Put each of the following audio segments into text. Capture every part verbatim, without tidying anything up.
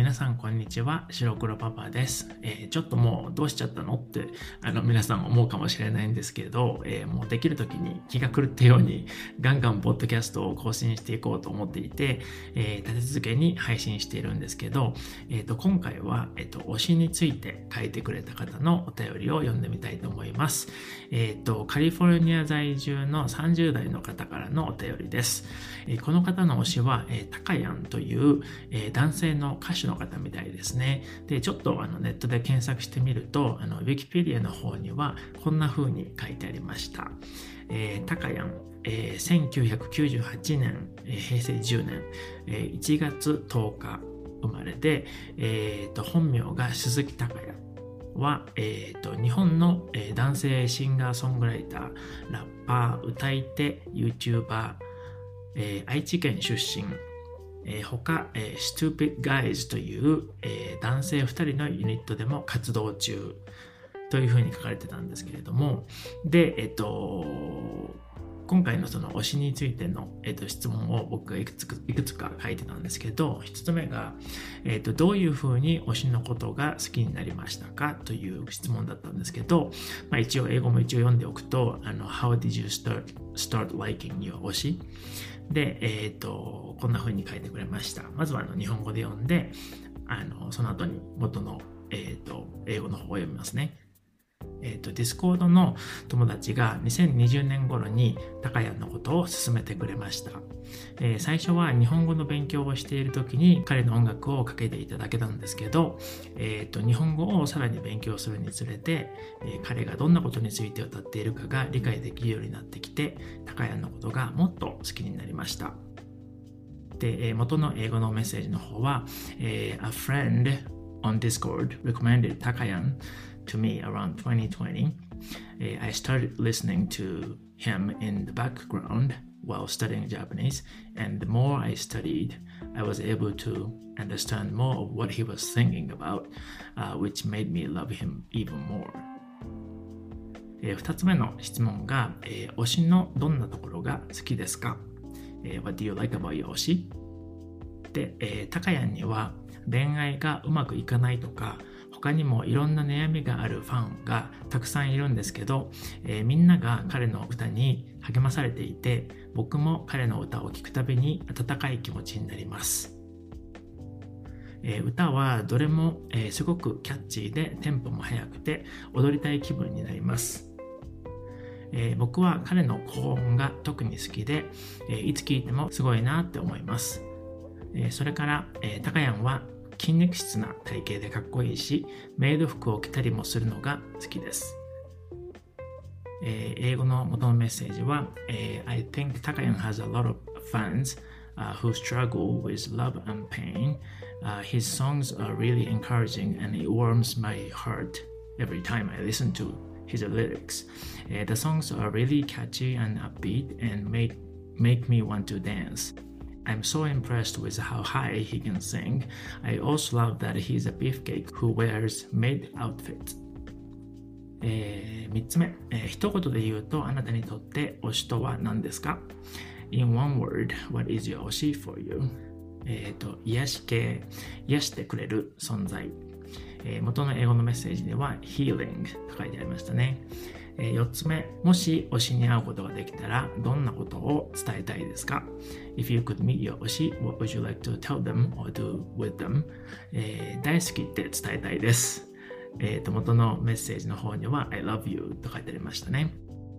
皆さんこんにちは、白黒パパです、えー、ちょっともうどうしちゃったのってあの皆さん思うかもしれないんですけど、えー、もうできる時に気が狂ったようにガンガンポッドキャストを更新していこうと思っていて、えー、立て続けに配信しているんですけど、えー、と今回は、えー、と推しについて書いてくれた方のお便りを読んでみたいと思います。えー、とカリフォルニア在住のさんじゅう代の方からのお便りです。えー、この方の推しは、えー、タカヤンという、えー、男性の歌手の方みたいですね。で、ちょっとあのネットで検索してみると、あのウィキペディアの方にはこんな風に書いてありました。えー、タカヤン、えー、せんきゅうひゃくきゅうじゅうはちねん、えー、へいせいじゅうねん、えー、いちがつとおか生まれで、えー、と本名が鈴木タカヤは、えー、と日本の、えー、男性シンガーソングライター、ラッパー、歌い手、YouTuber、えー、愛知県出身、えー、他、えー、Stupid Guys という、えー、男性ふたりのユニットでも活動中というふうに書かれてたんですけれども、で、えっと、今回のその推しについての、えっと、質問を僕がいくつか、いくつか書いてたんですけど、一つ目が、えっと、どういうふうに推しのことが好きになりましたかという質問だったんですけど、まあ、一応英語も一応読んでおくと、あの How did you start, start liking your 推しで、えっと、こんな風に書いてくれました。まずはあの日本語で読んで、あのその後に元の、えっと、英語の方を読みますね。えっと、Discord の友達がにせんにじゅうねん頃にタカヤンのことを勧めてくれました。えー、最初は日本語の勉強をしている時に彼の音楽をかけていただけたんですけど、えー、と日本語をさらに勉強するにつれて、えー、彼がどんなことについて歌っているかが理解できるようになってきて、タカヤンのことがもっと好きになりました。で、えー、元の英語のメッセージの方は、えー、A friend on Discord recommended Takayan to me around twenty twenty. Uh, I started listening to him in the background while studying Japanese, and the more I studied, I was able to understand more of what he was thinking about, uh, which made me love him even more. えー、ふたつめの質問が、えー、推しのどんなところが好きですか？えー、What do you like about your 推し？で、えー、タカヤンには恋愛がうまくいかないとか、他にもいろんな悩みがあるファンがたくさんいるんですけど、えー、みんなが彼の歌に励まされていて、僕も彼の歌を聴くたびに温かい気持ちになります。えー、歌はどれも、えー、すごくキャッチーでテンポも速くて踊りたい気分になります。えー、僕は彼の高音が特に好きで、えー、いつ聴いてもすごいなって思います。えー、それから、えー、タカヤンは筋肉質な体型でかっこいいし、メイド服を着たりもするのが好きです。えー、英語の元のメッセージは、えー、I think Takayan has a lot of fans、uh, who struggle with love and pain.、Uh, his songs are really encouraging and it warms my heart every time I listen to his lyrics.、Uh, the songs are really catchy and upbeat and make, make me want to dance.I'm so impressed with how high he can sing. I also love that he's a beefcake who wears maid outfits. えー、みっつめ、えー、一言で言うとあなたにとって推しとは何ですか？ In one word, what is your 推し for you? えっと、癒し系、癒してくれる存在。えー、元の英語のメッセージでは healing と書いてありましたね。よっつめ、もし推しに会うことができたらどんなことを伝えたいですか？ If you could meet your 推し、what would you like to tell them or do with them? えー、大好きって伝えたいです。えーと、元のメッセージの方には I love you と書いてありましたね。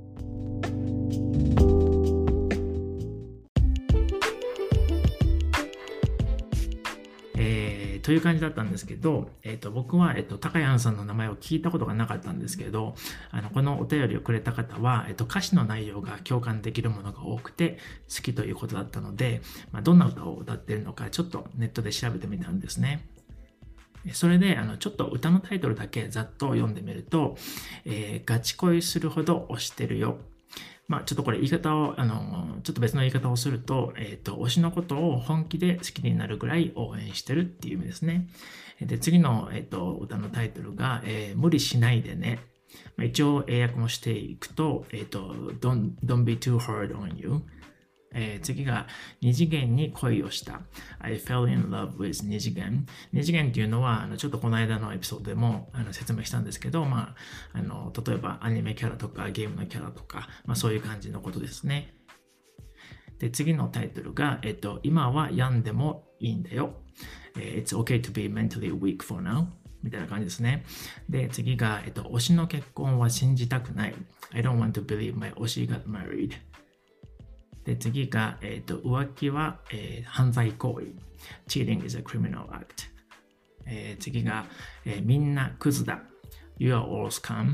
えー、という感じだったんですけど、えー、と僕は、えー、とタカヤンさんの名前を聞いたことがなかったんですけど、あのこのお便りをくれた方は、えー、と歌詞の内容が共感できるものが多くて好きということだったので、まあ、どんな歌を歌っているのかちょっとネットで調べてみたんですね。それであのちょっと歌のタイトルだけざっと読んでみると、えー、ガチ恋するほど推してるよ。まあちょっとこれ言い方を、あの、ちょっと別の言い方をすると、えっと、推しのことを本気で好きになるぐらい応援してるっていう意味ですね。で、次の、えっと、歌のタイトルが、えー、無理しないでね。まあ、一応英訳もしていくと、えっと、don't, don't be too hard on you。 えー、次が二次元に恋をした。I fell in love with 二次元。二次元っていうのは、あのちょっとこの間のエピソードでもあの説明したんですけど、まあ、あの例えばアニメキャラとかゲームのキャラとか、まあ、そういう感じのことですね。で、次のタイトルが、えっと、今は病んでもいいんだよ。It's okay to be mentally weak for now. みたいな感じですね。で、次が、えっと、推しの結婚は信じたくない。I don't want to believe my 推し got married. で、次が、えっと、浮気は、えー、犯罪行為。Cheating is a criminal act. えー、次が、えー、みんなクズだ。You are all scum.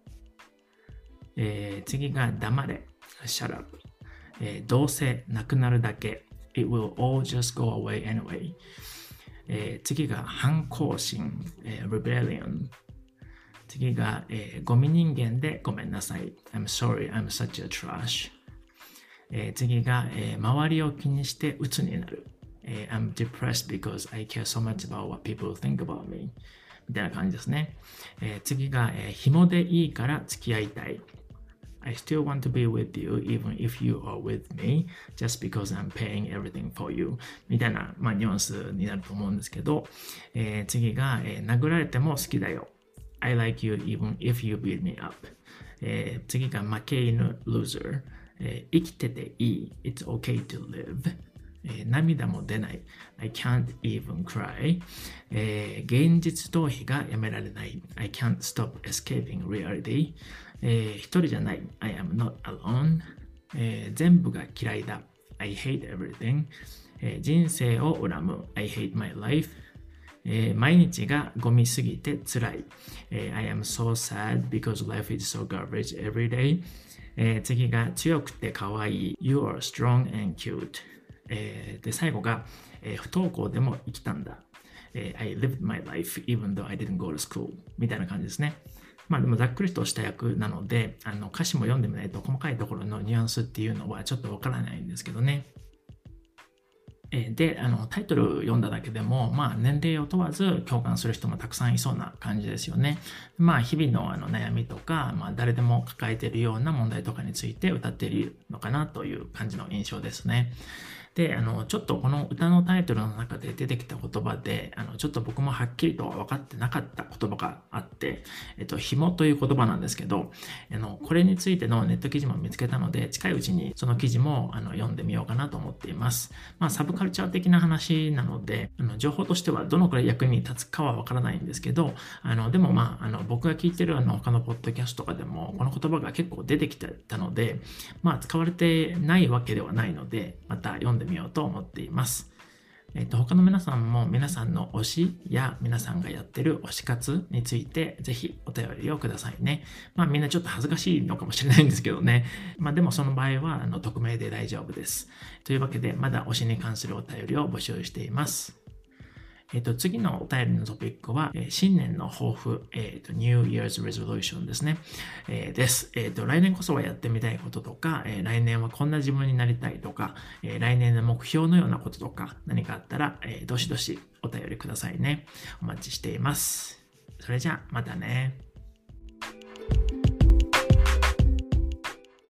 えー、次が、黙れ。Shut up. えー、どうせなくなるだけ。It will all just go away anyway. えー、次が反抗心、えー、rebellion。次が、えー、ゴミ人間でごめんなさい。I'm sorry, I'm such a trash。えー、次が、えー、周りを気にして鬱になる。えー、I'm depressed because I care so much about what people think about me。みたいな感じですね。えー、次が、えー、紐でいいから付き合いたい。I still want to be with you even if you are with me just because I'm paying everything for you みたいな、まあ、ニュアンスになると思うんですけど、えー、次が、えー、殴られても好きだよ I like you even if you beat me up、えー、次が負け犬 loser、えー、生きてていい It's okay to live、えー、涙も出ない I can't even cry、えー、現実逃避がやめられない I can't stop escaping reality、えー、一人じゃない I am not alone、えー、全部が嫌いだ I hate everything、えー、人生を恨む I hate my life、えー、毎日がゴミすぎて辛い、えー、I am so sad because life is so garbage every day、えー、次が強くて可愛い You are strong and cute、えー、で最後が、えー、不登校でも生きたんだ、えー、I lived my life even though I didn't go to school みたいな感じですね。まあでもざっくりとした役なので、あの歌詞も読んでみないと細かいところのニュアンスっていうのはちょっとわからないんですけどね。で、あのタイトル読んだだけでも、まあ、年齢を問わず共感する人もたくさんいそうな感じですよね。まあ、日々のあの悩みとか、まあ、誰でも抱えているような問題とかについて歌っているのかなという感じの印象ですね。で、あの、ちょっとこの歌のタイトルの中で出てきた言葉で、あの、ちょっと僕もはっきりとは分かってなかった言葉があって、えっと、紐という言葉なんですけど、あの、これについてのネット記事も見つけたので、近いうちにその記事もあの読んでみようかなと思っています。まあ、サブカルチャー的な話なので、あの、情報としてはどのくらい役に立つかは分からないんですけど、あの、でもまあ、あの、僕が聞いてるあの、他のポッドキャストとかでも、この言葉が結構出てきてたので、まあ、使われてないわけではないので、また読んでみようと思っています。えっと、他の皆さんも皆さんの推しや皆さんがやってる推し活についてぜひお便りをくださいね。まあみんなちょっと恥ずかしいのかもしれないんですけどね。まあでもその場合はあの匿名で大丈夫です。というわけでまだ推しに関するお便りを募集しています。えっと、次のお便りのトピックは、えー、新年の抱負、えっと、New Year's Resolution ですね。えー、です。えっと、来年こそはやってみたいこととか、えー、来年はこんな自分になりたいとか、えー、来年の目標のようなこととか、何かあったら、えー、どしどしお便りくださいね。お待ちしています。それじゃあ、またね。